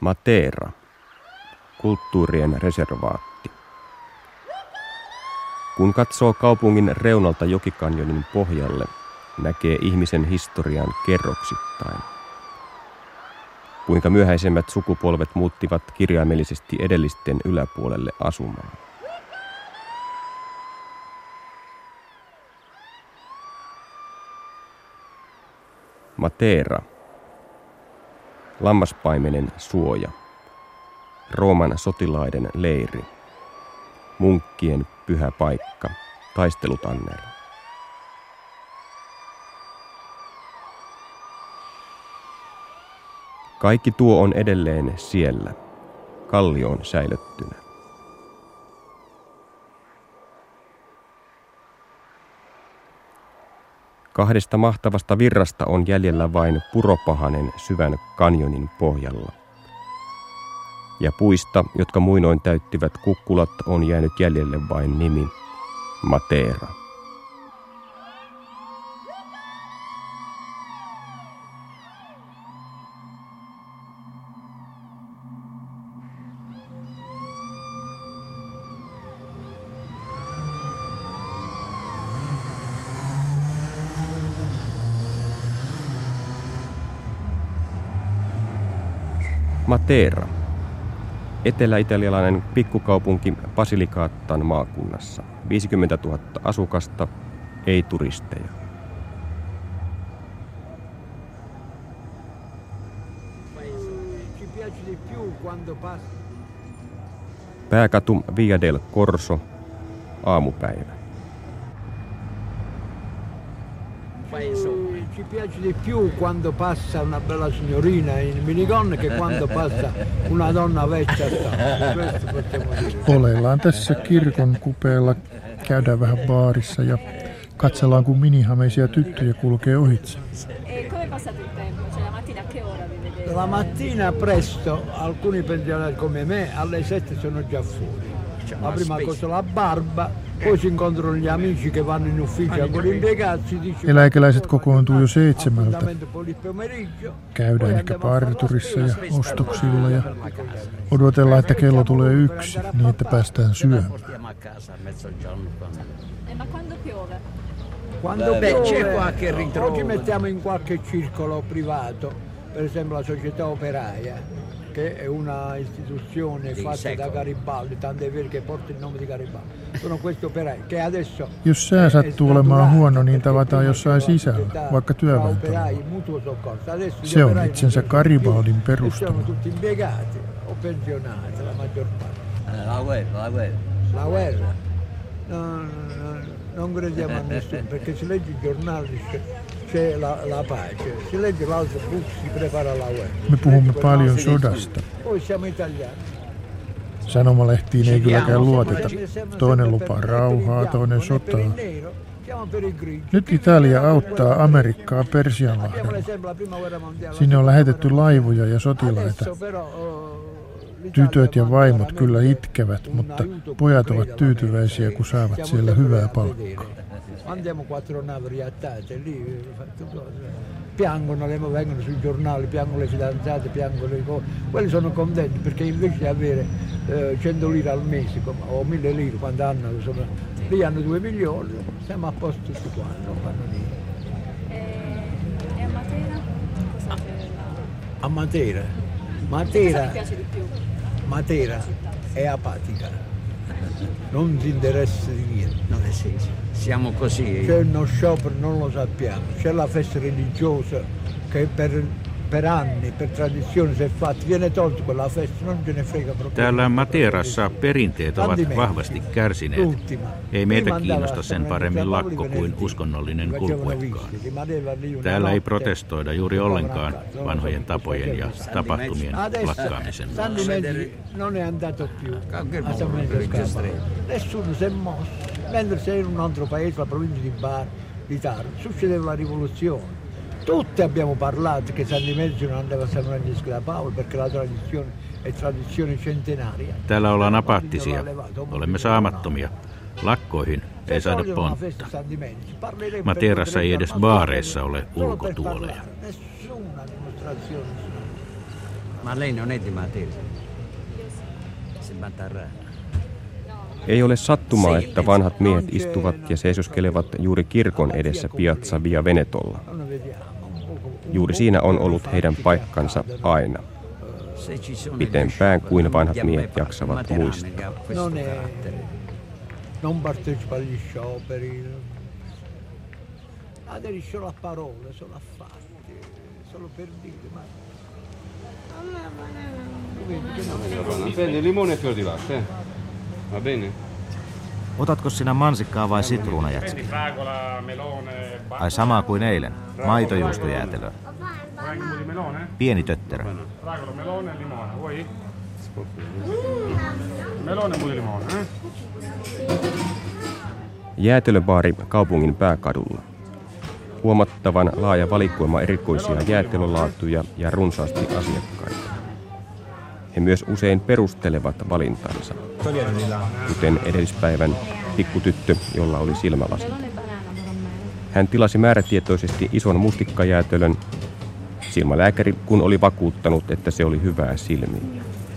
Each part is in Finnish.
Matera, kulttuurien reservaatti. Kun katsoo kaupungin reunalta jokikanjonin pohjalle, näkee ihmisen historian kerroksittain. Kuinka myöhäisemmät sukupolvet muuttivat kirjaimellisesti edellisten yläpuolelle asumaan. Matera. Lammaspaimenen suoja. Rooman sotilaiden leiri. Munkkien pyhä paikka. Taistelutanner. Kaikki tuo on edelleen siellä, kallioon säilöttynä. Kahdesta mahtavasta virrasta on jäljellä vain puropahanen syvän kanjonin pohjalla. Ja puista, jotka muinoin täyttivät kukkulat, on jäänyt jäljelle vain nimi Matera. Matera. Etelä-italialainen pikkukaupunki Basilicatan maakunnassa. 50 000 asukasta, ei turisteja. Pääkatu Via del Corso, aamupäivä. Ci piace di più quando passa una bella signorina in minigonne che quando passa una donna vecchia. Questo possiamo dire. Oleillaan tässä kirkon kupeella, käydään vähän baarissa ja katsellaan kun minihameisia tyttöjä kulkee ohitse. Come passate il tempo? Cioè la mattina a che ora vi vedete? La mattina presto, alcuni pensionati come me alle 7 sono già fuori. La prima cosa la barba, poi si incontrano gli amici che vanno in ufficio con impiegati. Eläkeläiset kokoontuu jo 7. Käydään ehkä parturissa ja ostoksilla ja odotellaan, että kello tulee 1, niin että päästään syömään. Ma quando piove? Quando c'è qualche ritrovo. Oggi mettiamo in qualche circolo privato, per esempio la società operaia, che è una istituzione fatta da Garibaldi, tant'è vero che porta il nome di Garibaldi. Sono questi operai che adesso... Jos sää sattuu olemaan huono, niin tavataan jossain sisällä, vaikka työväentalolla. Se on itsensä Garibaldin perustama. Tutti impiegati o pensionati, la maggior parte. La guerra? Non crediamo a nessuno, perché si legge i giornali, c'è la pace. Si legge l'altro book, si prepara la guerra. Me puhumme paljon sodasta. Poi siamo italiani. Sanomalehtiin ei kylläkään luoteta. Toinen lupaa rauhaa, toinen sotaa. Nyt Italia auttaa Amerikkaa Persianlahdella. Sinne on lähetetty laivoja ja sotilaita. Tytöt ja vaimot kyllä itkevät, mutta pojat ovat tyytyväisiä, kun saavat siellä hyvää palkkaa. Andiamo 4 navi riattate lì, piangono, vengono sui giornali, piangono le fidanzate, piangono le cose. Quelli sono contenti perché invece di avere 100 lire al mese o 1000 lire quando hanno, lì hanno 2 milioni, siamo a posto tutti qua, non fanno niente. E a Matera? A Matera? Cosa vi piace di più? Matera è apatica, non si interessa di niente. Siamo così. C'è uno sciopero, non lo sappiamo. C'è la festa religiosa che per anni, per tradizione si è fatta. Viene tolto quella festa, non ce ne frega proprio. Täällä Materassa perinteet ovat vahvasti kärsineet. Ei meitä kiinnosta sen paremmin lakko kuin uskonnollinen kulkuekaan. Täällä ei protestoida juuri ollenkaan vanhojen tapojen ja tapahtumien lakkaamisen vuoksi. Non è andato più a San Mendes. Nessuno si è mosso. Mentre sei in un altro paese, la provincia di Taranto, succedeva la rivoluzione. Tutti abbiamo parlato che San Dimezio non andava a San Francesco da Paolo perché la tradizione è tradizione centenaria. Täällä ollaan apaattisia. Olemme saamattomia. Lakkoihin ei saada pontta. Materassa ei edes baareissa ole ulkotuoleja. Ma lei non è di Matera. Si Matarrana. Ei ole sattumaa, että vanhat miehet istuvat ja seisoskelevat juuri kirkon edessä Piazza Via Venetolla. Juuri siinä on ollut heidän paikkansa aina. Pitempään kuin vanhat miehet jaksavat muistaa. Non partecipa agli scioperi, aderisce solo a parole, solo a fatti, solo per dire. Ma... Prendi limone e fior di latte, va bene? Otatko sinä mansikkaa vai sitruunajätskiä? Ai samaa kuin eilen, maitojuustojäätelöä. Pieni tötterö. Jäätelöbaari kaupungin pääkadulla. Huomattavan laaja valikoima erikoisia jäätelölaatuja ja runsaasti asiakkaita. He myös usein perustelevat valintansa, kuten edellispäivän pikkutyttö, jolla oli silmälasit. Hän tilasi määrätietoisesti ison mustikkajäätelön, silmälääkäri kun oli vakuuttanut, että se oli hyvää silmille.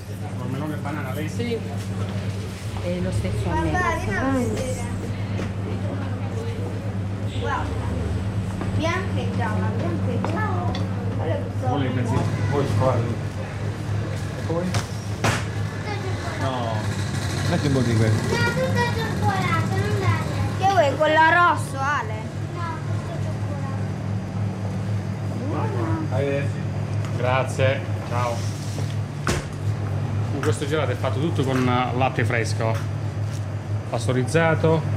No, metti un po' di questo. No, tutto cioccolato, non dai. Che vuoi, quello rosso, Ale? Grazie, ciao. Questo gelato è fatto tutto con latte fresco, pastorizzato,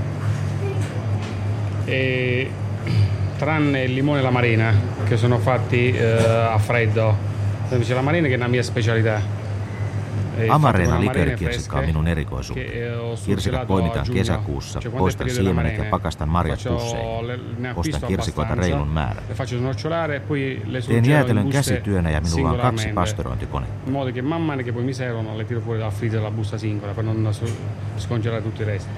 e tranne il limone e l'amarena che sono fatti a freddo. C'è l'amarena che è una mia specialità. Amarena liköörikirsikka on minun erikoisuuteni. Kirsikat poimitaan kesäkuussa, poistan siemenet ja pakastan marjat pusseihin. Ostan kirsikoita reilun määrän. Teen jäätelön käsityönä ja minulla on 2 pastorointikonetta. In modo che man mano che poi mi servono le tiro fuori dalla freezer la busta singola per non scongelare tutto il resto.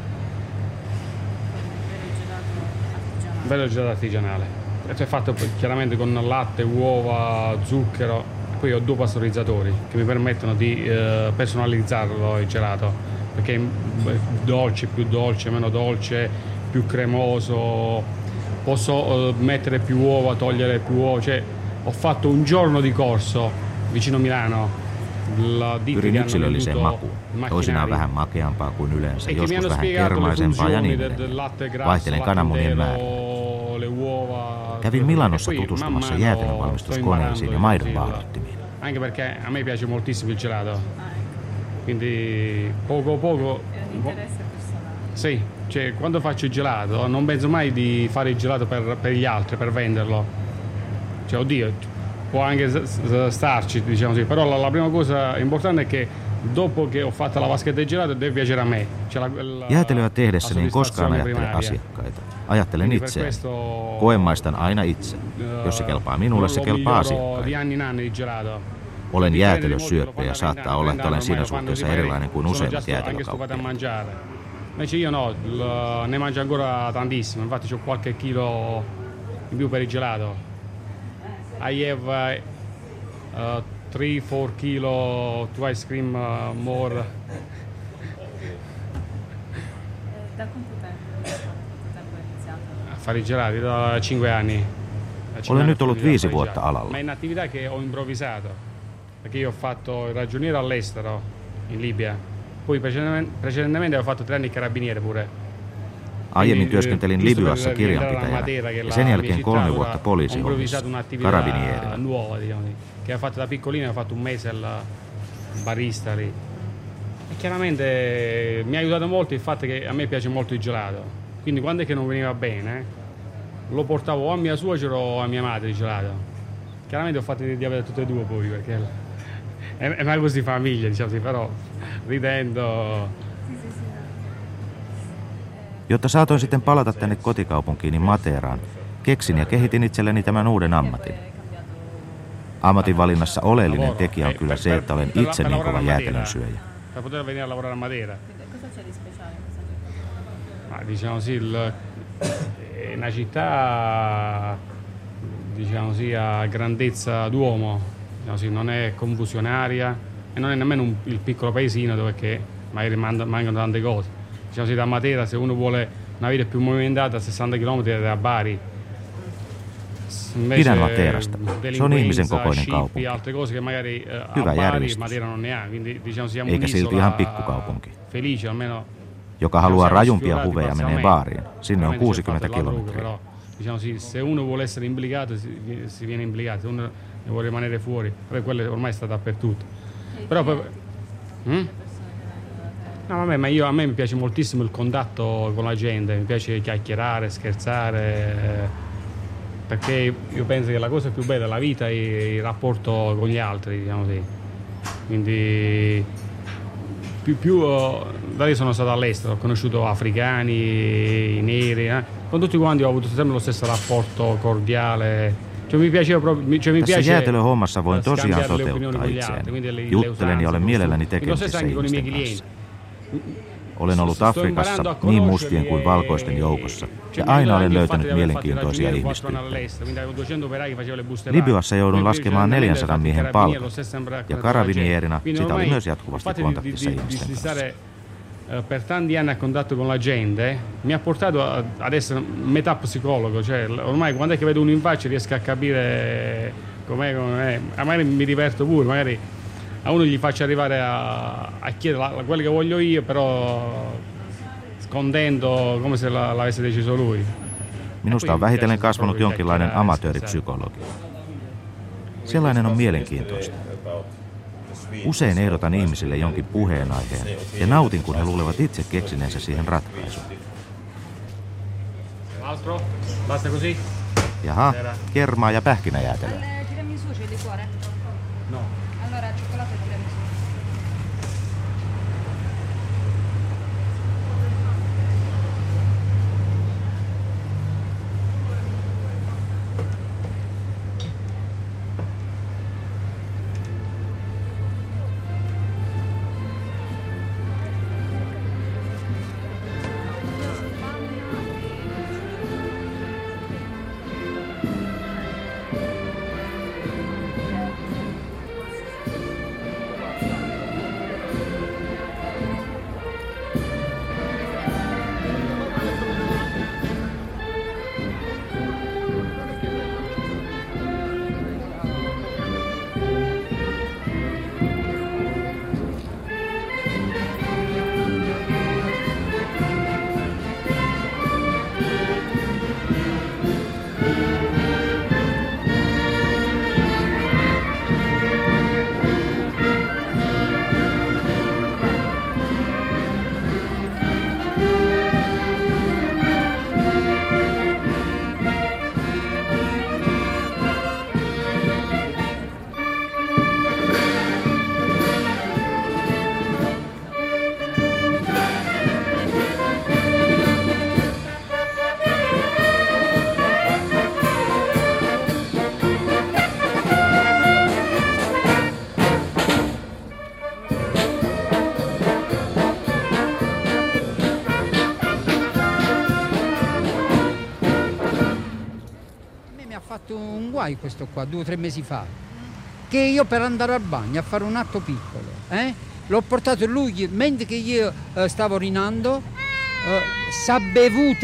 Bello gelato artigianale. È fatto chiaramente con latte, uova, zucchero. Poi ho 2 pastorizzatori che mi permettono di personalizzarlo il gelato, perché è dolce, più dolce, meno dolce, più cremoso, posso mettere più uova, togliere più uova, cioè ho fatto un giorno di corso vicino Milano. Pyrin yksilölliseen makuun. Toisinaan vähän makeampaa kuin yleensä, joskus vähän kermaisempaa ja niin edelleen. Vaihtelen kananmunien määrää. Kävin Milanossa tutustumassa jäätelönvalmistuskoneisiin ja maidon vaahdottimiin. Anche perché a me piace moltissimo il gelato. Quindi poco. Sì, cioè quando faccio il gelato non penso mai di fare il gelato per gli altri, per venderlo. Cioè oddio, può anche starci, diciamo così, però la prima cosa importante è che dopo che ho fatto la vaschetta di gelato deve piacere a me. Jäätelöä tehdessäni en koskaan ajattele asiakkaita. Ajattelen itseäni. Koemaistan aina itse. Jos se kelpaa minulle, se kelpaa asiakkaille. Olen jäätelösyöppä ja saattaa olla, että olen siinä suhteessa erilainen kuin useimmat jäätelökauppiaat. Invece io no, ne mangio ancora tantissimo, infatti c'ho qualche chilo in più per il gelato. I have 3-4 kilo to ice cream more. Da quanto tempo hai iniziato? A fare i gelati da 5 anni. Olen nyt ollut 5 vuotta alalla. Ma è un'attività che ho improvvisato, perché io ho fatto il ragioniere all'estero, in Libia. Poi precedentemente ho fatto 3 anni carabiniere pure. Aiemmin työskentelin Libyassa kirjanpitäjänä ja sen jälkeen 3 vuotta poliisihommissa, karabinierinä. Nuova, diciamo, che ho fatto da piccolino, ho fatto un mese al barista lì. E chiaramente mi ha aiutato molto il fatto che a me piace molto il gelato. Quindi quando è che non veniva bene, lo portavo o a mia suocera o a mia madre il gelato. Chiaramente ho fatto di avere tutte e 2 poi, perché è una cosa di famiglia, diciamo così, però ridendo. Jotta saatoin sitten palata tänne kotikaupunkiini Materaan, keksin ja kehitin itselleni tämän uuden ammatin. Ammatin valinnassa oleellinen tekijä on kyllä se, että olen itse niin kova jäätelönsyöjä. Per poter venire a lavorare a Matera. Cosa c'è di speciale? Ma diciamo sì, è una città, diciamo sì, a grandezza d'uomo, non è confusionaria e non è nemmeno il piccolo paesino dove che magari mancano tante cose. Diciamo così, da Matera, se uno vuole una vita più movimentata, 60 km da Bari. Pidän Materasta. Se on ihmisen kokoinen kaupunki. Hyvä järjestys. Eikä silti ihan pikkukaupunki. Joka haluaa rajumpia huveja menee baariin. Sinne on 60 kilometriä. Se uno vuole essere implicato, si viene implicato. Se uno vuole rimanere fuori. Quello ormai sta dappertutto. Però poi... No, vabbè, ma a me mi piace moltissimo il contatto con la gente, mi piace chiacchierare, scherzare, perché io penso che la cosa più bella della vita è il rapporto con gli altri, diciamo così. Quindi da lì sono stato all'estero, ho conosciuto africani, neri, con tutti quanti ho avuto sempre lo stesso rapporto cordiale. Mi piaceva proprio, Tässä jäätelöhommassa voin tosiaan toteuttaa itseäni. Juttelen ja olen mielelläni tekemisissä ihmisten kanssa. Olen ollut Afrikassa niin mustien kuin valkoisten joukossa ja aina olen löytänyt mielenkiintoisia ihmistyyppejä. Libyassa joudun laskemaan 400 miehen palkan ja karabinieerina sitä oli myös jatkuvasti kontaktissa ihmisten kanssa. Per tanti anni a contatto con la gente mi ha portato ad essere metà psicologo, cioè ormai quando è che vedo uno in faccia riesco a capire com'è, magari mi diverto pure, magari a uno gli faccio arrivare a chiedere quello che voglio io, però contento come se l'avesse deciso lui. Minusta on vähitellen kasvanut jonkinlainen amatööripsykologia. Sellainen on mielenkiintoista. Usein ehdotan ihmisille jonkin puheenaiheen ja nautin, kun he luulevat itse keksineensä siihen ratkaisun. Jaha, kermaa ja pähkinäjäätelöä. Un guai questo qua 2 o 3 mesi fa, che io per andare al bagno a fare un atto piccolo l'ho portato lui mentre che io stavo orinando, s'ha bevuto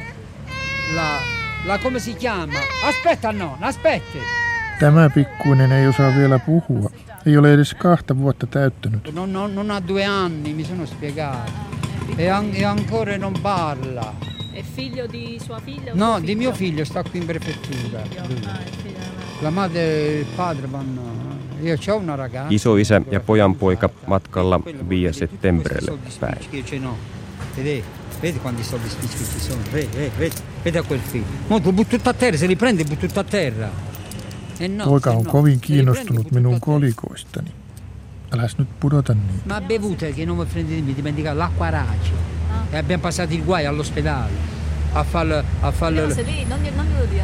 la come si chiama, aspetta nonna, aspetti. Tämä pikkuinen ei osaa vielä puhua, ei ole edes 2 vuotta täyttänyt. Non ha 2 anni, mi sono spiegato, e ancora non parla. È figlio di sua figlia? No, di mio figlio, sta qui in prefettura. La madre e il padre vanno. Io c'ho una ragazza. Isoisä ja pojanpoika matkalla Via Settembrelle päin. Vedi quanti soldi spicci ci sono? Vedi a quel figlio. Mo tu butto a terra, se li prendi butto a terra. Poika on kovin kiinnostunut minun kolikoistani. Äläs nyt pudota niitä. Ma bevute che non mi prendi, mi dimentica l'acqua arace. E abbiamo passato il guai all'ospedale a farlo. No, se lì, non glielo dia.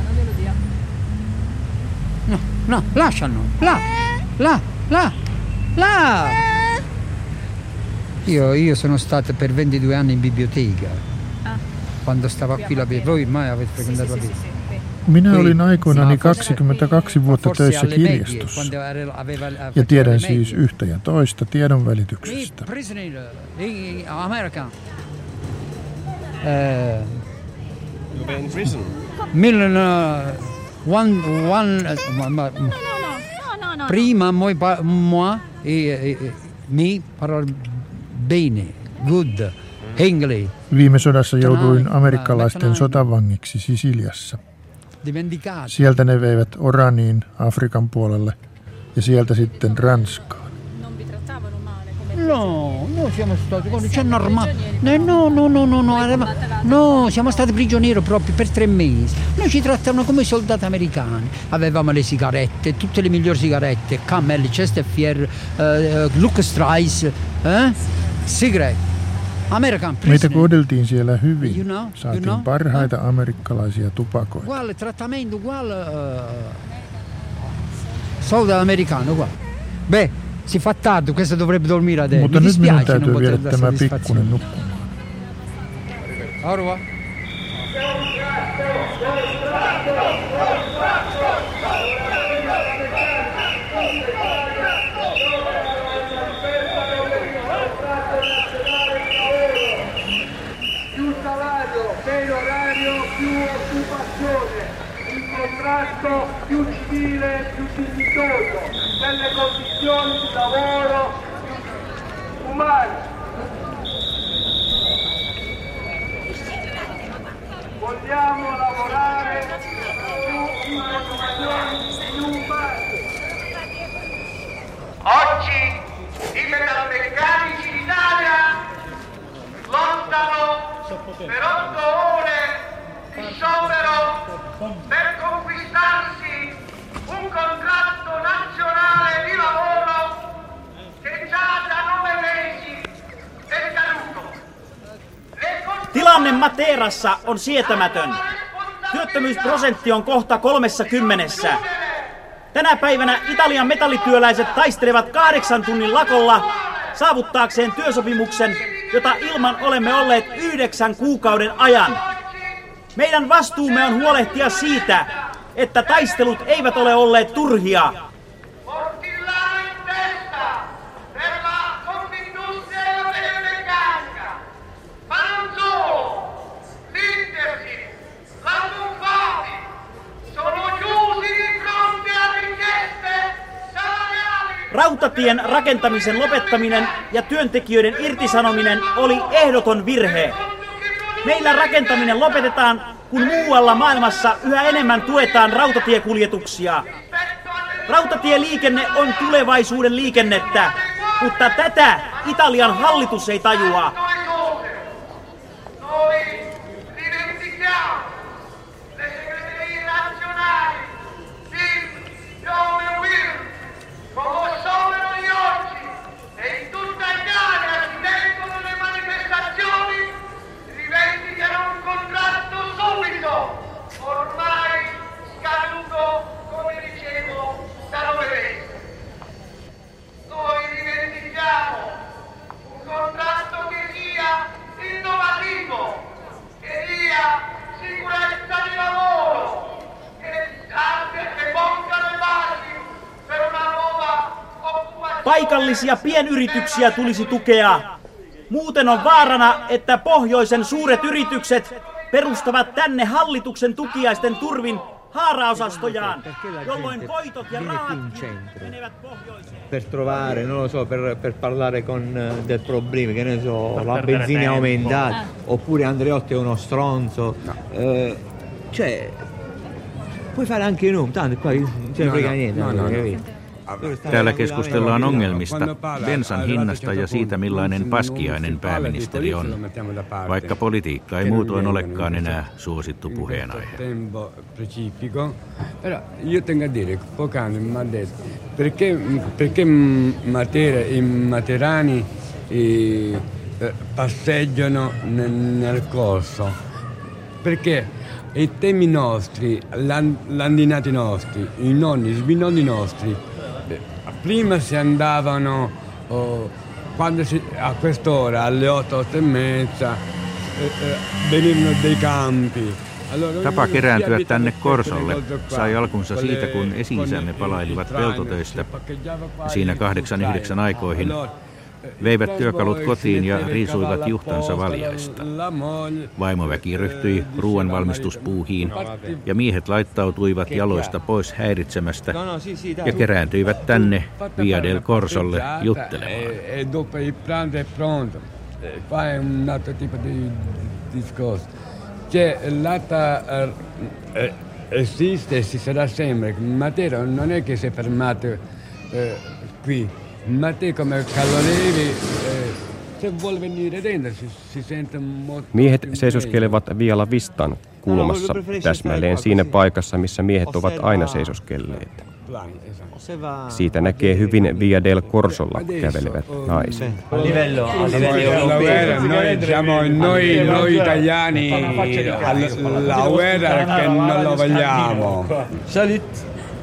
No, lasciano. Là. Io sono stato per 22 anni in biblioteca. Quando stavo qui la voi mai avete frequentato la biblioteca. Minä olin aikoinani 22 vuotta töissä kirjastossa ja tiedän siis yhtä ja toista tiedon välityksestä. Prima moi mi parla bene, good, English. Viime sodassa jouduin amerikkalaisten sotavangiksi Sisiliassa. Sieltä ne veivät Oraniin, Afrikan puolelle ja sieltä sitten Ranskaan. No, siamo stati c'è normale. No, siamo stati prigionieri proprio per 3 mesi. Noi ci trattavano come soldati americani. Avevamo le sigarette, tutte le migliori sigarette, Camel, Chesterfield, Lucas Strice, cigarette. Meitä kohdeltiin siellä hyvin. Saatiin parhaita amerikkalaisia tupakoita. Uguale trattamento, uguale soldato americano, uguale. Beh, si fa tardi, questo dovrebbe dormire adesso. Mutta nyt minun täytyy viedä tämä pikkunen nukkumaan. Au revoir. Più civile, più dignitoso, delle condizioni di lavoro più umane. Vogliamo lavorare più in condizioni più umane. Oggi i metalmeccanici d'Italia lottano per 8 ore di sciopero per conquistarsi un contratto nazionale di lavoro che già da 9 mesi è scaduto. Tilanne Materassa on sietämätön. Työttömyysprosentti on kohta 30. Tänä päivänä Italian metallityöläiset taistelevat 8 tunnin lakolla saavuttaakseen työsopimuksen, jota ilman olemme olleet 9 kuukauden ajan. Meidän vastuumme on huolehtia siitä, että taistelut eivät ole olleet turhia. Rautatien rakentamisen lopettaminen ja työntekijöiden irtisanominen oli ehdoton virhe. Meillä rakentaminen lopetetaan, kun muualla maailmassa yhä enemmän tuetaan rautatiekuljetuksia. Rautatieliikenne on tulevaisuuden liikennettä, mutta tätä Italian hallitus ei tajua. Paikallisia pienyrityksiä tulisi tukea. Muuten on vaarana, että pohjoisen suuret yritykset perustavat tänne hallituksen tukiaisten turvin haaraosastojaan, jolloin voitot ja rahat menevät pohjoiseen. Per trovare, non lo so, per parlare con del problema, che ne so, la benzina è aumentata, oppure Andreotti è uno stronzo. Cioè, puoi fare anche noi, tanto qua non ce frega niente, capito? Täällä keskustellaan ongelmista, bensan hinnasta ja siitä, millainen paskiainen pääministeri on, vaikka politiikka ei muutoin olekaan enää suosittu puheenaihe. Io tengo a dire, poc'anzi mi ha detto, perché Matera e Materani passeggiano nel corso? Perché i temi nostri, l'andinati nostri, i nonni, i sbinonni nostri, prima si andavano a quest'ora, alle 8, 8 e mezza, venivano dei campi, Tapa kerääntyä tänne Korsolle sai alkunsa siitä, kun esi-isämme palailivat peltotöistä ja siinä 8-9 aikoihin veivät työkalut kotiin ja riisuivat juhtansa valjaista. Vaimoväki ryhtyi ruoanvalmistuspuuhiin ja miehet laittautuivat jaloista pois häiritsemästä ja kerääntyivät tänne Via del Corsolle juttelemaan. Esiste, si sarà sempre. Matera non è che si è fermato qui. Matera come Callolevi, se vuole venire dentro si sente molto. Miehet seisoskelevat Vialla Vistan kulmassa, täsmälleen siinä paikassa, missä miehet ovat aina seisoskelleet. Siitä näkee hyvin Via del Corsolla kävelevät naiset. Noi italiani la guerra che non lo vogliamo. Salut.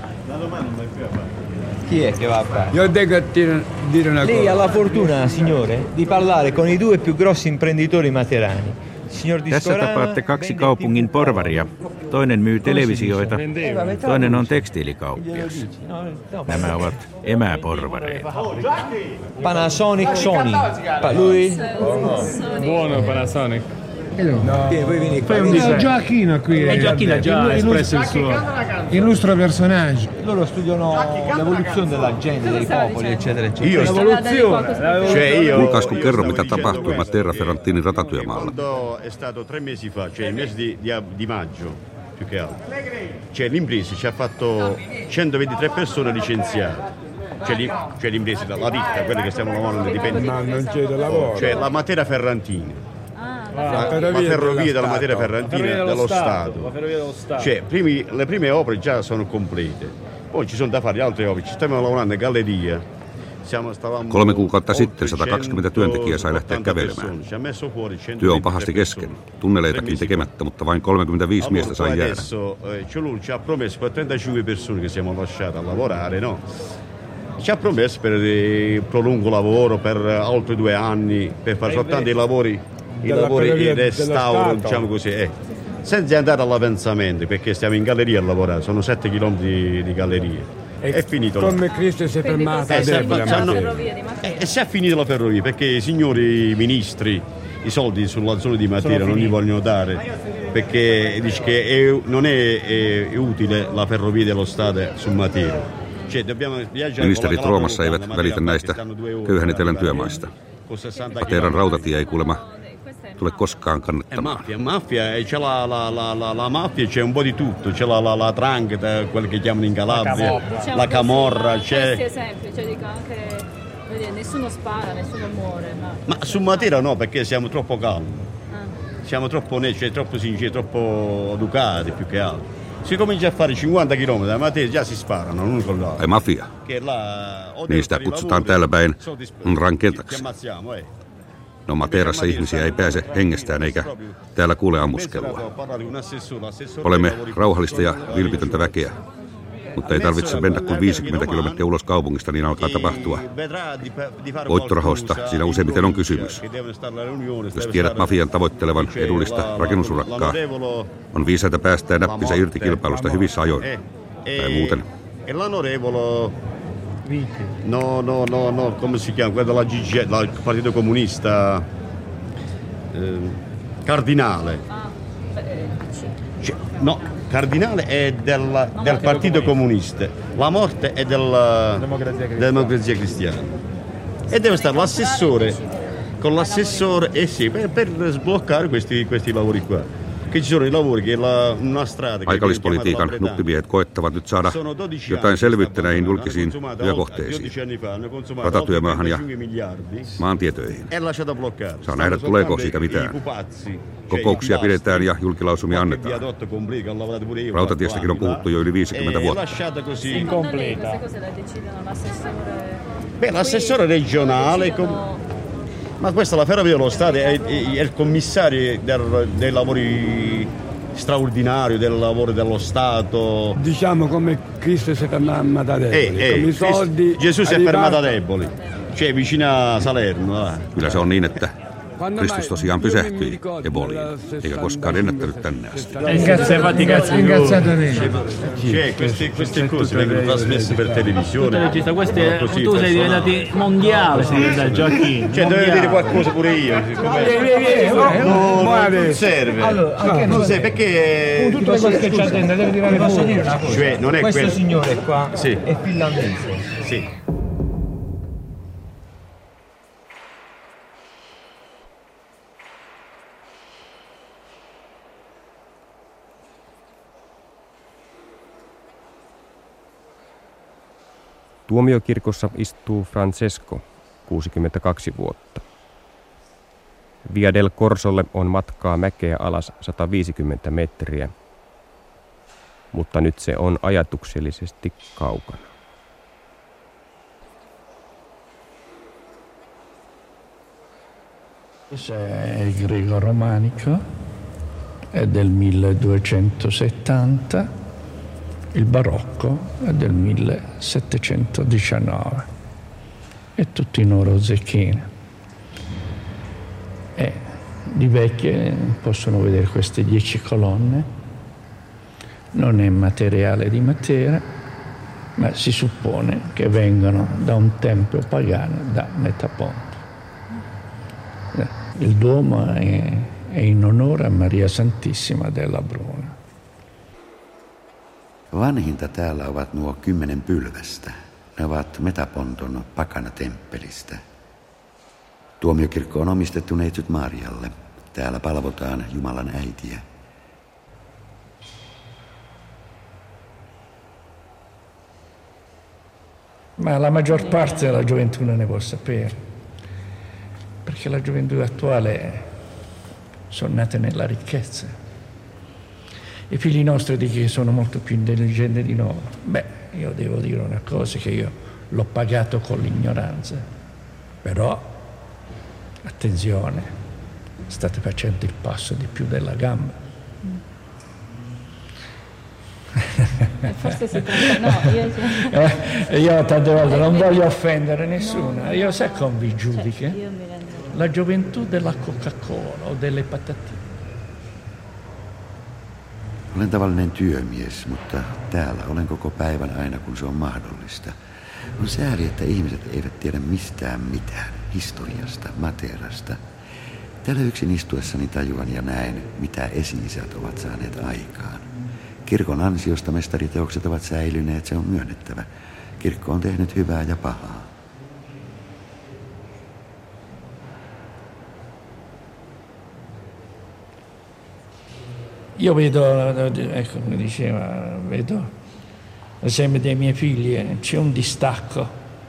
Chi è che va a fare? Io devo dire una cosa. Lei ha la fortuna, signore, di parlare con i 2 più grossi imprenditori materani. Tässä tapaatte 2 kaupungin porvaria. Toinen myy televisioita, toinen on tekstiilikauppias. Nämä ovat emäporvareita. Panasonic Sony. Lui? Buono Panasonic. Fai un Gioacchino qui. Gioacchino ha già espresso il suo illustro personaggio. Loro studiano l'evoluzione della gente, dei popoli, eccetera, eccetera. Kuulkaas, kun kerro, mitä tapahtui Matera Ferrantinin ratatyömaalla. È stato 3 mesi fa, cioè il mese di maggio, più che altro. Cioè l'impresa ci ha fatto 123 persone licenziate. Cioè l'impresa, la ditta, quelle che stiamo lavorando indipendenti. Ma non c'è da lavoro. Cioè la Matera Ferrantina. La ferrovia della Matera Ferrantina dello Stato. Cioè, le prime opere già sono complete. Poi ci sono da fare altre opere. Ci stiamo lavorando in galleria. 3 kuukautta sitten 120 työntekijää sai lähteä kävelemään. Työ on pahasti kesken. Tunneleitakin tekemättä, mutta vain 35 miestä sai jäädä. Ci ha promesso per 35 persone che siamo lasciati a lavorare, no? Ci ha promesso per prolungo lavoro per altri 2 anni, per fare soltanto i lavori di restauro, diciamo così, senza andare all'avanzamento, perché stiamo in galleria a lavorare, sono 7 chilometri di galleria. È finito. Come Cristo si è fermata e si è finita la ferrovia, perché i signori ministri i soldi sulla zona di Matera non li vogliono dare, perché dice che non è utile la ferrovia dello Stato su Matera. Ministerit Roomassa eivät välitä näistä köyhän etelän työmaista. Materan rautatie ei kuulemma tule koskaan kannattamaan. Mafia, c'è la mafia, c'è un po' di tutto, c'è la 'ndrangheta, quella che chiamano in Calabria, la camorra, c'è. Nessuno spara, nessuno muore. Ma su Matera no, perché siamo troppo calmi. Siamo troppo troppo sinceri, troppo educati più che altro. Si comincia a fare 50 km da Matera, già si sparano l'uno con l'altro. Ai mafia. Niistä kutsutaan täällä päin rankentaksi. No Materassa ihmisiä ei pääse hengestään eikä täällä kuule ammuskelua. Olemme rauhallista ja vilpitöntä väkeä, mutta ei tarvitse mennä kuin 50 kilometriä ulos kaupungista, niin alkaa tapahtua. Voittorahoista siinä useimmiten on kysymys. Jos tiedät mafian tavoittelevan edullista rakennusurakkaa, on viisaita päästää näppinsä irti kilpailusta hyvissä ajoin. Tai muuten. No, come si chiama? Quella della GG, del Partito Comunista Cardinale. No, Cardinale è del Partito Comunista. La morte è della Democrazia Cristiana. E deve stare l'assessore con l'assessore per sbloccare questi lavori qua. Paikallispolitiikan nuppimiehet koettavat nyt saada jotain selvyyttä näihin julkisiin työkohteisiin, ratatyömaahan ja maantietöihin. Saa nähdä, tuleeko siitä mitään. Kokouksia pidetään ja julkilausumia annetaan. Rautatiestakin on puhuttu jo yli 50 vuotta. L'assessore regionale... Ma questa la Ferrovia dello Stato è il commissario dei lavori straordinari, del lavoro dello Stato. Diciamo come Cristo si è fermato a Deboli, con i soldi. Gesù si è fermato a Deboli, cioè vicino a Salerno. Kyllä se on niin, että Kristus tosiaan pysähtyi Eboliin, eikä koskaan ennättänyt tänne asti. Queste cose vengono trasmesse per televisione. Tu sei diventati mondiale, da Gioacchino. Cioè, dovevo dire qualcosa pure io. Non serve. Non serve perché. Tutto quello che c'è dentro deve tirare fuori. Cioè, non è questo signore qua sì. È finlandese. Sì. Tuomiokirkossa istuu Francesco, 62 vuotta. Via del Corsolle on matkaa mäkeä alas 150 metriä, mutta nyt se on ajatuksellisesti kaukana. Questo è il greco-romanico, è del 1270, il barocco è del 1719 e tutti in oro zecchino. E di vecchie possono vedere queste 10 colonne, non è materiale di Matera, ma si suppone che vengano da un tempio pagano da Metaponto. Il Duomo è in onore a Maria Santissima della Bruna. Vanhinta täällä ovat nuo 10 pylvästä. Ne ovat Metaponton pakanatemppelistä. Tuomiokirkko on omistettu neitsyt Marialle. Täällä palvotaan Jumalan äitiä. Ma la maggior parte della gioventù non ne può sapere, perché la gioventù attuale sono nate nella ricchezza. I figli nostri di che sono molto più intelligenti di noi. Beh, io devo dire una cosa, che io l'ho pagato con l'ignoranza, però attenzione, state facendo il passo di più della gamba. Forse si tratta, no, io tante volte non voglio offendere nessuno, io sai come vi giudica? La gioventù della Coca-Cola o delle patatine. Olen tavallinen työmies, mutta täällä olen koko päivän aina kun se on mahdollista. On sääli, että ihmiset eivät tiedä mistään mitään, historiasta, Materasta. Täällä yksin istuessani tajuan ja näen, mitä esi-isät ovat saaneet aikaan. Kirkon ansiosta mestariteokset ovat säilyneet, se on myönnettävä. Kirkko on tehnyt hyvää ja pahaa. Io vedo, ecco come diceva, vedo l'esempio dei miei figli, c'è un distacco,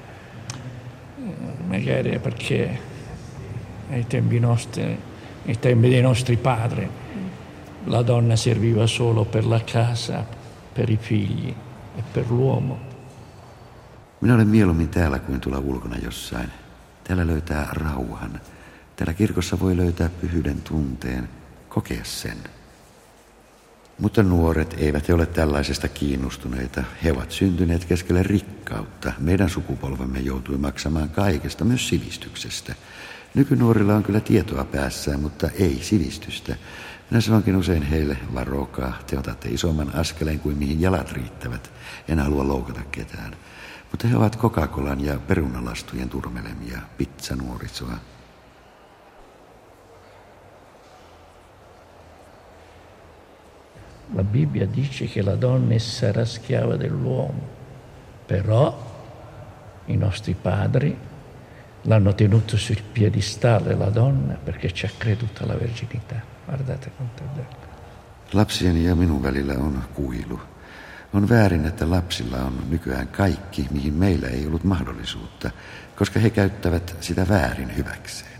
magari perché ai tempi nostri, ai tempi dei nostri padri, la donna serviva solo per la casa, per i figli e per l'uomo. Minä olen mieluummin täällä kuin tuolla ulkona jossain. Täällä löytää rauhan. Täällä kirkossa voi löytää pyhyyden tunteen, kokea sen. Mutta nuoret eivät ole tällaisesta kiinnostuneita. He ovat syntyneet keskelle rikkautta. Meidän sukupolvemme joutui maksamaan kaikesta, myös sivistyksestä. Nykynuorilla on kyllä tietoa päässään, mutta ei sivistystä. Minä sanonkin usein heille, varokaa, te otatte isomman askeleen kuin mihin jalat riittävät. En halua loukata ketään. Mutta he ovat Coca-Colan ja perunalastujen turmelemia, pizzanuorisoa. La Bibbia dice che la donna sarà schiava dell'uomo, però i nostri padri l'hanno tenuto sul piedistallo la donna perché ci ha creduto alla verginità. Guardate quanto è bello. Lapsieni ja minun välillä on kuilu. On väärin, että lapsilla on nykyään kaikki, mihin meillä ei ollut mahdollisuutta, koska he käyttävät sitä väärin hyväkseen.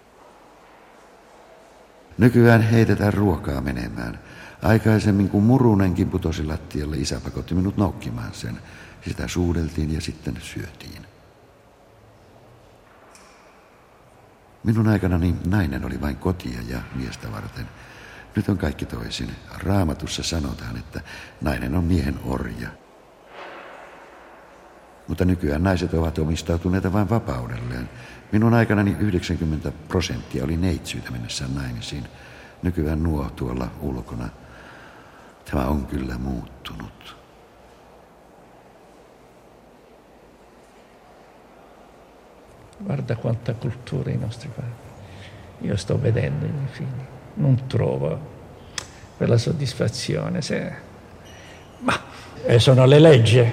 Nykyään heitetään ruokaa menemään. Aikaisemmin kun murunenkin putosi lattialle, isä pakotti minut noukkimaan sen. Sitä suudeltiin ja sitten syötiin. Minun aikanani nainen oli vain kotia ja miestä varten. Nyt on kaikki toisin. Raamatussa sanotaan, että nainen on miehen orja. Mutta nykyään naiset ovat omistautuneita vain vapaudelleen. Minun aikanani 90% oli neitsyitä mennessään naimisiin. Nykyään nuo tuolla ulkona. Tämä on kyllä muuttunut. Guarda quanta cultura i nostri padri. Io sto vedendo i miei figli. Non trovo quella soddisfazione. Ma sono le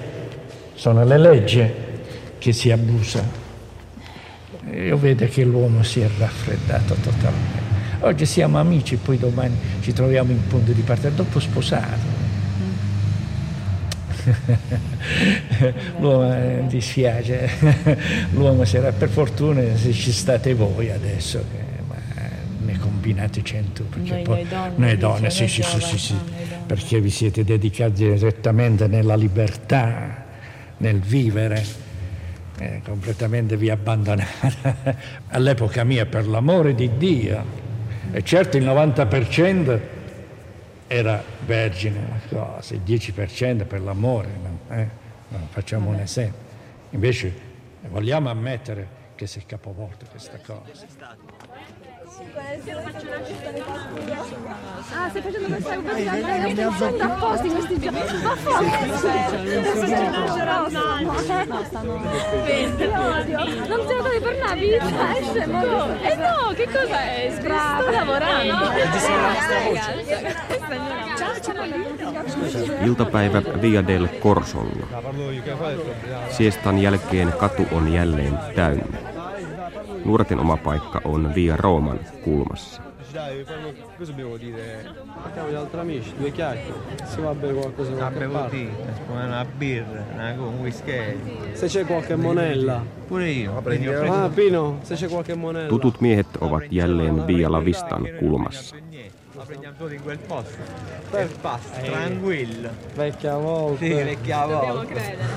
leggi che si abusa. Io vedo che l'uomo si è raffreddato totalmente. Oggi siamo amici, poi domani ci troviamo in punto di partenza, dopo sposato. L'uomo dispiace, l'uomo sarà, per fortuna se ci state voi adesso, ma ne combinate 100, perché noi donne, sì, perché vi siete dedicati direttamente nella libertà, nel vivere, completamente vi abbandonate. All'epoca mia, per l'amore di Dio, e certo il 90% era vergine, cosa, il 10% per l'amore, facciamo un esempio. Invece vogliamo ammettere che si è capovolto questa cosa. Ah, stai facendo questa cosa apposta in questi giorni. Ma non te lo devi per una vita, no, che cosa è? Sto lavorando. Iltapäivä Via del Corsolla. Siestan jälkeen katu on jälleen täynnä. Nuorten oma paikka on Via Rooman kulmassa. Cosa dobbiamo dire? Facciamo gli altri amici, due chiacchiere. Si va a bere qualcosa da qualche parte. Una birra, un whisky. Se c'è qualche monella. Pure io. Pino, se c'è qualche monella. Tutut miehet ovat jälleen Via La Vistan kulmassa. La prendiamo tutti in quel posto. Per pasta, tranquillo. Vecchia volta. Sì, vecchia volta.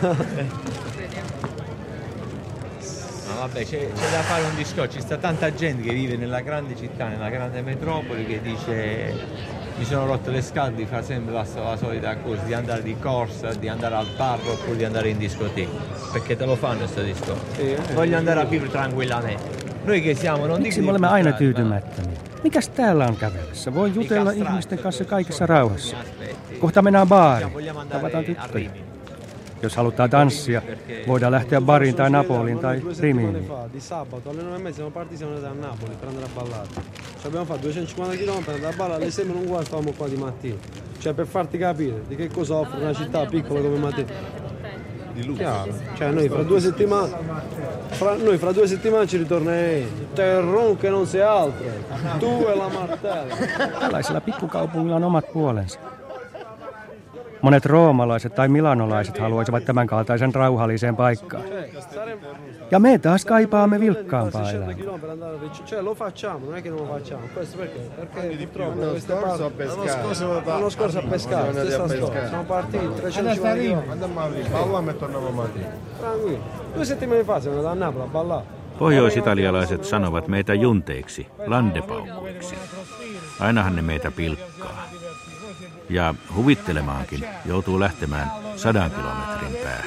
No, vabbè, c'è da fare un discorso, ci sta tanta gente che vive nella grande città, nella grande metropoli, che dice mi sono rotte le scale, fa sempre la solita cosa, di andare di corsa, di andare al bar oppure di andare in discoteca, perché te lo fanno questo discorso. Voglio andare a vivere tranquillamente. Noi che siamo, non miksi me olemme aina tyytymättömiä? Mikäs täällä on kävelyssä? Voi jutella ihmisten kanssa kaikessa rauhassa. Kohta mennään baariin, tavataan tyttöjä. Jos halutaan tanssia, voidaan lähteä bariin tai Napoliin tai Rimiin. Di sabato alle 9:30 siamo partiti, siamo andati a Napoli per andare a ballare. Ci abbiamo fatto 250 km per andare a ballare, alle 6 non guarda stavamo qua di mattina. Cioè per farti capire di che cosa offre una città piccola come Matera. Di lusso. Chiaro. Cioè noi fra 2 settimane ci ritorneremo. Terron che non sei altro. Tu e la Martella. Tällaisilla pikkukaupungilla on omat puolensa. Monet roomalaiset tai milanolaiset haluaisivat tämän kaltaisen rauhalliseen paikkaan. Ja me taas kaipaamme vilkkaampaa elämää. Lo facciamo, non è che non lo facciamo. Questo perché? Perché l'anno scorso a pescare. Siamo partiti 350 km. Andiamo a ballare e torniamo a Matera. Tranquillo. 2 settimane fa siamo andati a Napoli a ballare. Pohjois-italialaiset sanovat meitä junteiksi, landepaukuiksi. Ainahan ne meitä pilkkaa. Ja huvittelemaankin joutuu lähtemään 100 kilometrin päähän.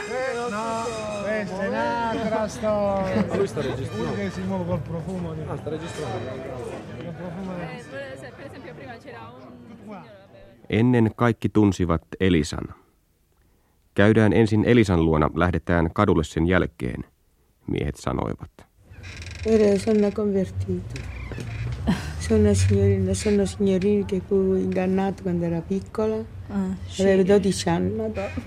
Ennen kaikki tunsivat Elisan. Käydään ensin Elisan luona, lähdetään kadulle sen jälkeen, miehet sanoivat. Sono convertito. Sono signorina che fu ingannato quando era piccola. Aveva 12 anni.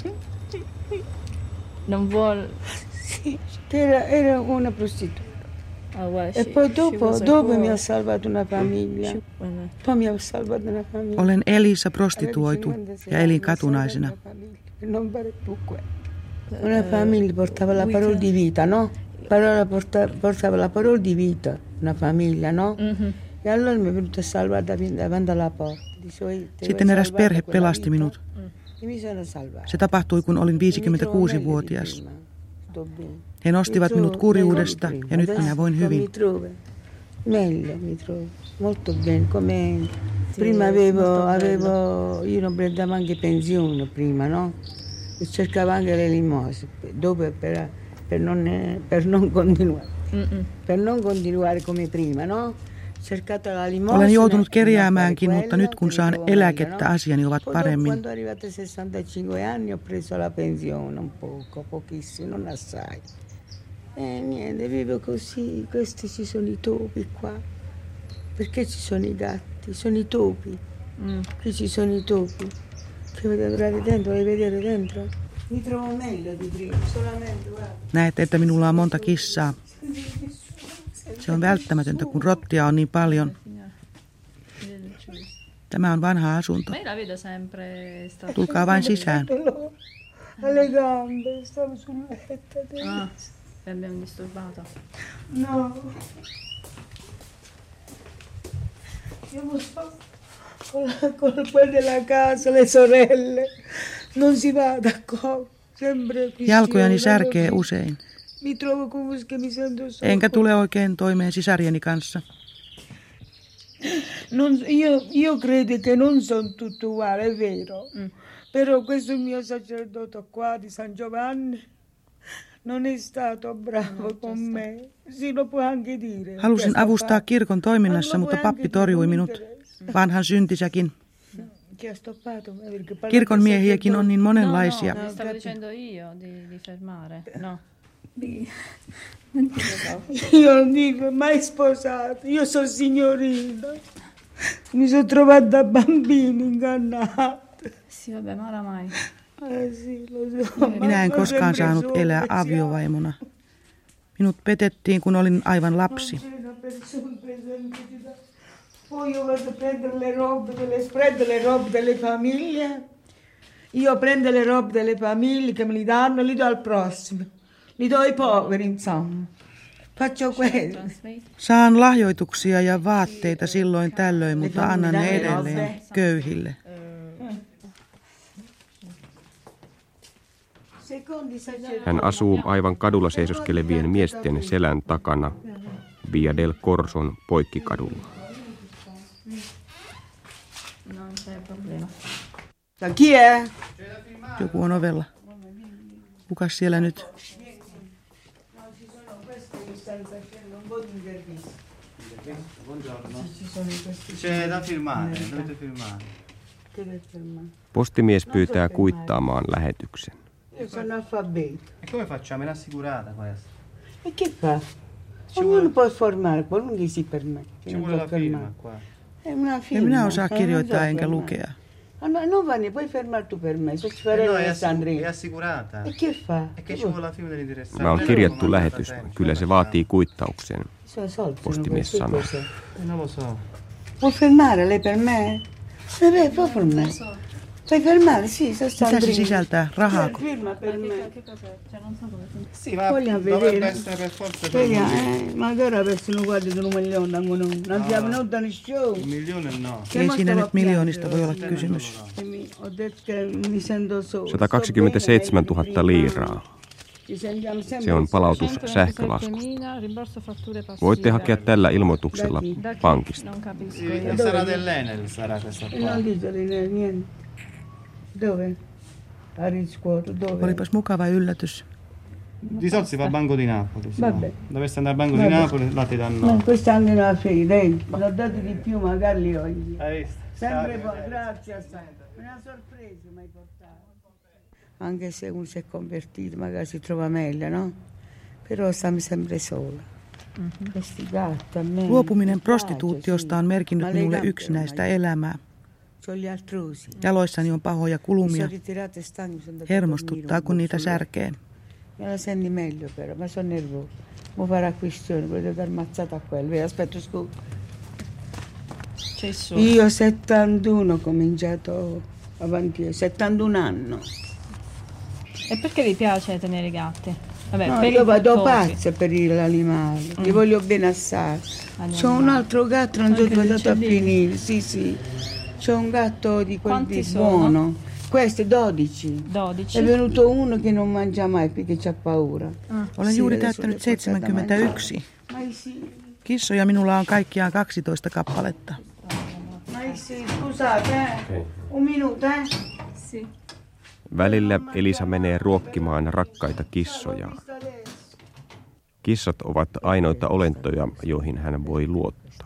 Non vuole... Sì, era una prostituta. E poi dopo mi ha salvato una famiglia. Poi mi ha salvato una famiglia. Olen Elisa prostituoitu ja elin katunaisena. Non vale più quello. Una famiglia portava la parola di vita, no? Portava la parola di vita, una famiglia, no? Ja allora mi è venuto a salvare davanti alla porta. Sitten eräs perhe pelasti minut. Se tapahtui, kun olin 56-vuotias. He nostivat minut kurjuudesta ja nyt minä voin hyvin. Meglio, mi trovo molto bene. Come prima io non prendevo anche pensione prima, no? cercava anche le limose, dopo per non continuare. Per non continuare come prima, no? Olen joutunut kerjäämäänkin, mutta nyt kun saan eläkettä, asiani ovat paremmin. Quando arrivate 65 anni ho preso la pensione un pochissimo, non assai. Niente, vivo così, questi ci sono i topi qua. Perché ci sono i gatti, sono i topi. Qui ci sono i topi. Che vedete dentro, vuoi vedere dentro? Mi trovo meglio di prima, solamente guarda. Näette, että minulla on monta kissaa. Se on välttämätöntä, kun rottia on niin paljon. Tämä on vanha asunto. Tulkaa vain sisään. Alle gambe, stavo sul letto. Abbiamo disturbato. No. Io non so, con quel della casa, le sorelle, non si va d'accordo. Sempre qui. Jalkojani särkee usein. Mi trovo come che mi sento sola. Enkä tule oikein toimeen sisarieni kanssa. Io credo che non sono tutto uguale, è vero. Però questo mio sacerdote qua di San Giovanni non è stato bravo con me. Si lo può anche dire. Halusin avustaa kirkon toiminnassa, mutta pappi torjui minut. Vanhan syntisäkin. Kirkon miehiäkin on niin monenlaisia. No, stavo dicendo io di fermare. No. Io non dico mai sposato, io sono signorina. Mi sono trovata da bambini ingannata. Sì, vabbè, ma oramai. Sì, lo so. Minä en koskaan saanut elää aviovaimona. Minut petettiin, kun olin aivan lapsi. Poi io vado a prendere le robe delle famiglie. Io prendo le robe delle famiglie che me li danno, li do al prossimo. Li do ai poveri, insomma. Faccio quello. Saan lahjoituksia ja vaatteita silloin tällöin, mutta annan ne edelleen köyhille. Hän asuu aivan kadulla seisoskelevien miesten selän takana Via del Corson poikkikadulla. Chi è? Joku on ovella. Kukas siellä nyt? C'è da firmare, dovete firmare. Postimies pyytää kuittaamaan lähetyksen. Io sono alfabeto. E come facciamo? È assicurata questa. E che fa? Ognuno può formare, qualunque si permette. Ci vuole la firma qua. È una En firma. minä osaa kirjoittaa enkä lukea. No, non va ne puoi fermare tu per me, se ci fare No, Alessandrina. è assicurata. E che fa? E che ci vuole la firma dell'interessato? Tämä on kirjattu lähetys. Kyllä se vaatii kuittauksen, Soldi, postimies sanoi. Non lo so. Può fermare lei per me? Vabbè, può fermare. Puoi fermare, sì, Mitä se Sandrina. sisältää? Rahaako? Firma per me. Sì, ma Vogliamo dovrebbe vedere. essere per forza per Vediamo, lui. magari adesso non guardi di 1 milione, non abbiamo venuto nel show. 1 milione no. Ei siinä nyt miljoonista voi olla kysymys. Ho detto che mi sento sola. 127 000 liiraa. Ci sentiamo sempre Se on palautus sähkölaskusta. Voitte hakea tällä ilmoituksella pankista. Sì, sarà dell'Enel, sarà questa E qua. non diteli niente. Dove? A riscuoto, dove? Olipas mukava yllätys. Di solito si va al Banco di Napoli. se Vabbè. no. Dovesse andare al Banco Vabbè. di Napoli, là ti danno. No, quest'anno è una fede, dai, l'ho dato di più, magari li ho io. Hai visto? Sempre poi, grazie a te. Una sorpresa mi hai portato. Anche se uno si è convertito, magari si trova meglio, no? Però stiamo sempre sola. Questi gatti a me. Luopuminen prostituutiosta on merkinnyt minulle yksinäistä elämää. C'ho gli artrosi. Jaloissani on pahoja Mi kulumia. sono ritirata e stanco, sono andata a Hermostuttaa, dormire kun un niitä po' sulle- särkee. Me la senti meglio però, ma sono nervosa. Mo farà questione, volete dar mazzata a quello. Vedi, aspetta, scusa. C'è su. Io 71 ho cominciato avanti, 71 anni. E perché vi piace tenere i gatti? Vabbè, No, per io i vado cosi. pazza per gli animali, li voglio bene assai. C'ho un altro gatto, non sono Anche gli andato a uccellini? finire, sì. C'ho un gatto di quelli Quanti sono? buono. Questo 12. 12. È venuto uno che non mangia mai perché c'ha paura. Olen Sì, juuri adesso täyttänyt le portate da 71. mangiare. Ma sì. Kissoja minulla on kaikkiaan 12 kappaletta. Ma sì, scusate, un minuto, Sì. Välillä Elisa menee ruokkimaan rakkaita kissojaan. Kissat ovat ainoita olentoja, joihin hän voi luottaa.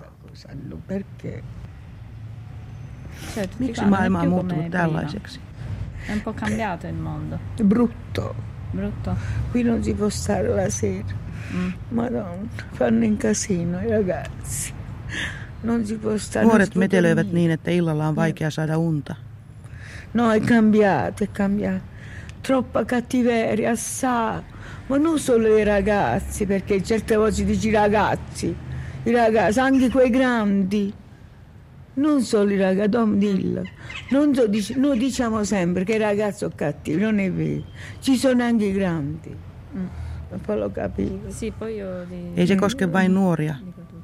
Miksi maailma on muuttunut tällaiseksi? È un po' cambiato il mondo. Brutto. Brutto. Qui non si può stare la sera. Madonna, fanno in casino i ragazzi. Non si può stare. Nuoret metelöivät niin, että illalla on vaikea saada unta. No, è cambiato, è cambiato. Troppa cattiveria, assai. Ma non solo i ragazzi, perché certe volte si dice i ragazzi, anche quei grandi. Non solo i ragazzi, Dom dillo. Noi diciamo sempre che i ragazzi sono cattivi, non è vero. Ci sono anche i grandi. Poi lo capivo. Ei se koske vain nuoria.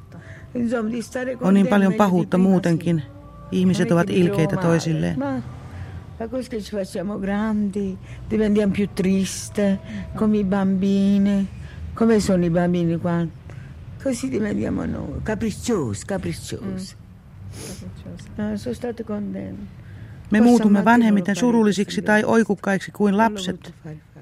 On niin paljon pahuutta muutenkin. Ihmiset ovat ilkeitä toisilleen. Ma così che ci facciamo grandi, diventiamo più triste, come i bambini. Come sono i bambini qua? Così diventiamo noi, capricciosi. Sono state contente. Me muutumme vanhemmiten surullisiksi tai oikukkaiksi kuin lapset.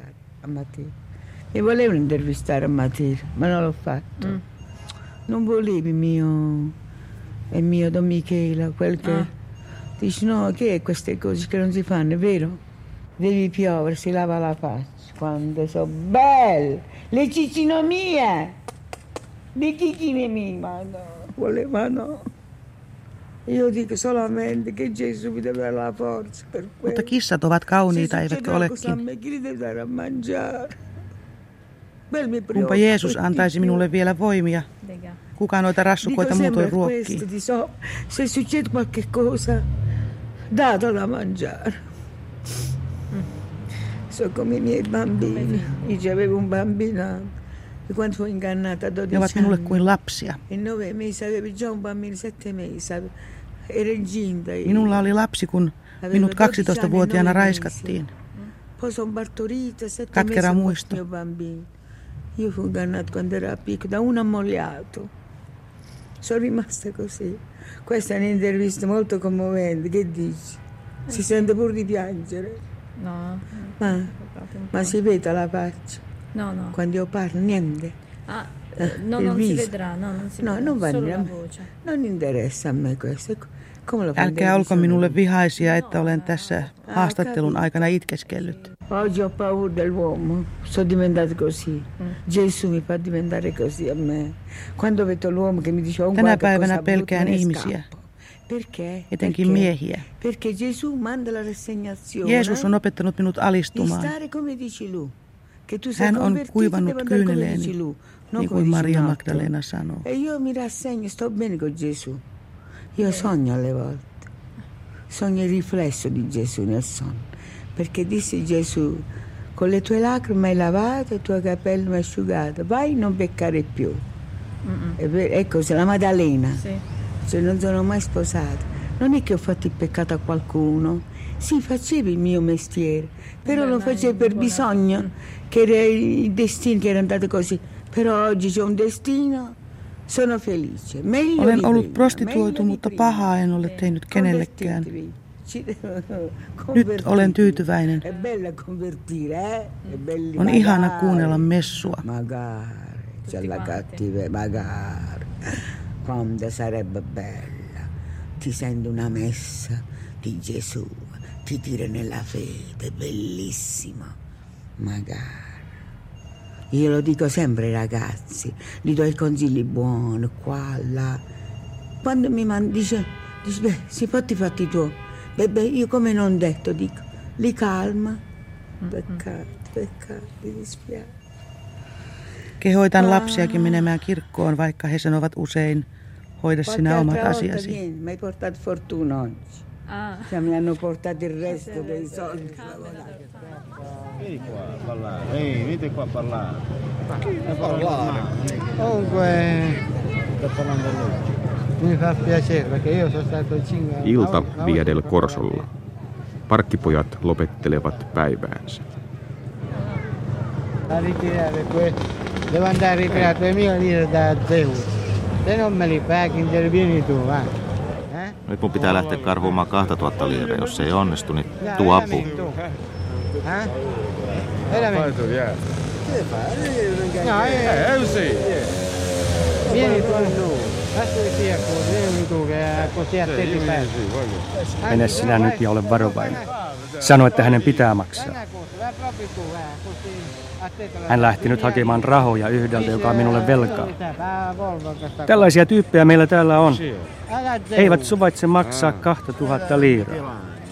Mi volevo intervistare a Matilde, ma non l'ho fatto. Non volevi il mio Don Michela, quel che... Dici, no, che è queste cose che non si fanno, è vero? Devi piovere, si lava la faccia, quando sono belle, le cicine mie, le cicine mie, ma no, voleva no. Io dico solamente che Gesù mi deve dare la forza per quello. Mutta kissat ovat kauniita, eivätkö olekin? Kumpa Jeesus antaisi minulle vielä voimia. Kuka noita rassukoita muutoin ruokkii? Se succede qualche cosa, dato da mangiare. So come i miei bambini. Io avevo un bambino. Quando fu ingannata a 12 Ne ovat minulle kuin lapsia. In 9 mesi avevo già un bambino, 7 mesi. Era incinta. Minulla oli lapsi, kun minut 12-vuotiaana raiskattiin. Poi sono partorita, 7 Katkera mesi muisto. mio bambino. Io fui ingannata quando era piccolo da un ammogliato. Sono rimasta così. Questa è un'intervista molto commovente, che dici? Si sente pur di piangere. No. Ma si vede la faccia? No. Quando io parlo, niente. No, non si vedrà, non si vedrà. Non va solo niente. la voce. Non interessa a me questo. Come lo Älkää olko minulle vihaisia, että olen tässä haastattelun aikana itkeskellyt. Oggi ho paura dell'uomo, sono diventato così. Gesù mi fa diventare così a me. Quando vedo l'uomo che mi dice Tänä päivänä pelkään ihmisiä, perché? etenkin miehiä. Perché Gesù manda la rassegnazione. Jeesus on opettanut minut alistumaan. Hän on kuivannut kyyneleeni, niin kuin Maria Magdalena sanoo. E io mi rassegno, sto bene con Gesù. Io sogno alle volte. Sogno il riflesso di Gesù nel sonno. Perché disse Gesù, con le tue lacrime hai lavato, i tuoi capelli hai asciugato, vai non peccare più. Ecco, se la Maddalena, se non sono mai sposata, non è che ho fatto il peccato a qualcuno, sì, facevo il mio mestiere, però lo facevo per bisogno, che era il destino che era andato così, però oggi c'è un destino, sono felice. Meglio Olen di ollut prima, prostituoitu, mutta pahaa en ole tehnyt kenellekään. Nyt olen tyytyväinen. On ihana kuunnella messua. Magari, quando sarebbe bella, ti sento una messa di Gesù, ti tira nella fede, bellissima, magari. Io lo dico sempre ai ragazzi, gli do i consigli buoni, qua, là. Quando mi dice, beh, si fatti i fatti tuoi. Beh, io come non detto, dico, li calma. Peccato, mi dispiace. Kehoitan lapsiakin menemään kirkkoon, vaikka he sanovat usein, hoida sinä omat asiasi. Mi hai portato fortuna oggi. Cioè, mi hanno portato il resto dei soldi. Vieni qua a parlare, venite qua a parlare. A parlare. Comunque, sto parlando a lui. Mi fa piacere perché io sono stato 5 anni. Ilta Via del Corsolla. Parkkipojat lopettelevat päiväänsä. A ritirare devo andare a ritirare 2000 lire da Zeus. Se non me li paghi, intervieni tu, va. Nyt mun pitää lähteä karvumaan 2000 liiraa. Jos se ei onnistu, niin tuu apuun. Veramente? Che fai? No, è così. Vieni tu. Adesso che sia così, vieni tu, che così a te ti perdi. Mene sinä nyt ja ole varovainen. Sano, että hänen pitää maksaa. Hän lähti nyt hakemaan rahoja yhdeltä, joka on minulle velkaa. Tällaisia tyyppejä meillä täällä on. Eivät suvaitse maksaa 2000 liiraa.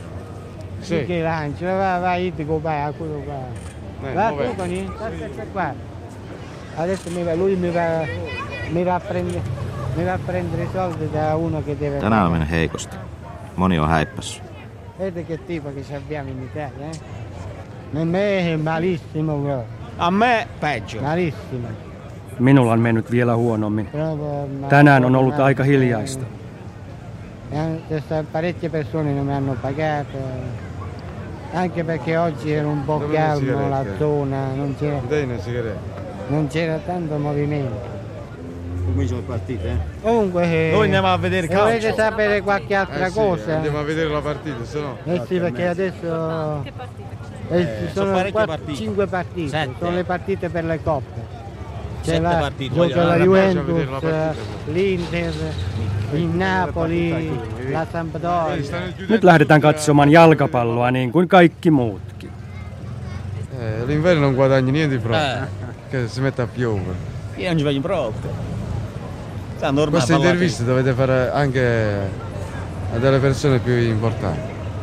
Tänään on mennyt heikosti. Moni on häippässyt. Vedi che tipo che abbiamo in Italia, Me malissimo. A me peggio. Malissimo. Minulla on mennyt vielä huonommin. Tänään on ollut aika hiljaista. Parecchie persone non mi hanno pagato. Anche perché oggi era un po' calmo la zona, non c'era tanto movimento. Come sono partite? Comunque, noi andiamo a vedere calcio. Volete sapere qualche altra cosa? Andiamo a vedere la partita, se no. Sì, perché adesso sono 5 partite, Sette. sono le partite per le coppe. C'è 7 la, partite. gioca la Juventus, l'Inter, il Napoli, la Sampdoria. Nyt lähdetään katsomaan jalkapalloa niin kuin kaikki muutkin. L'inverno non guadagni niente proprio, che si mette a piovere. Io non ci voglio proprio. Queste interviste dovete fare anche a delle persone più importanti.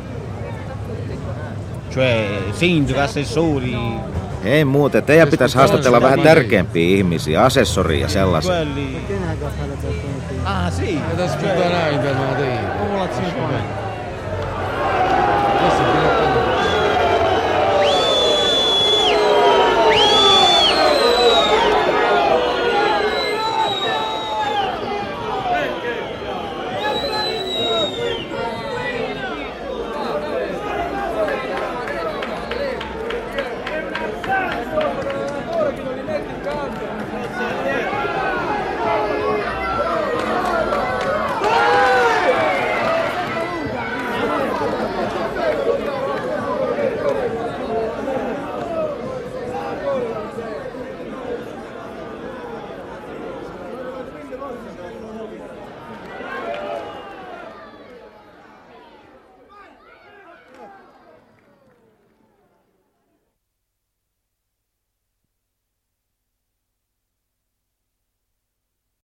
Cioè, sindaco, assessori. Ei muuta, teidän pitäisi haastatella vähän tärkeämpiä ihmisiä, asessoria ja sellaisia. Perché una cosa le persone qui? Ah, sì. Ed ascoltare in Popolazione.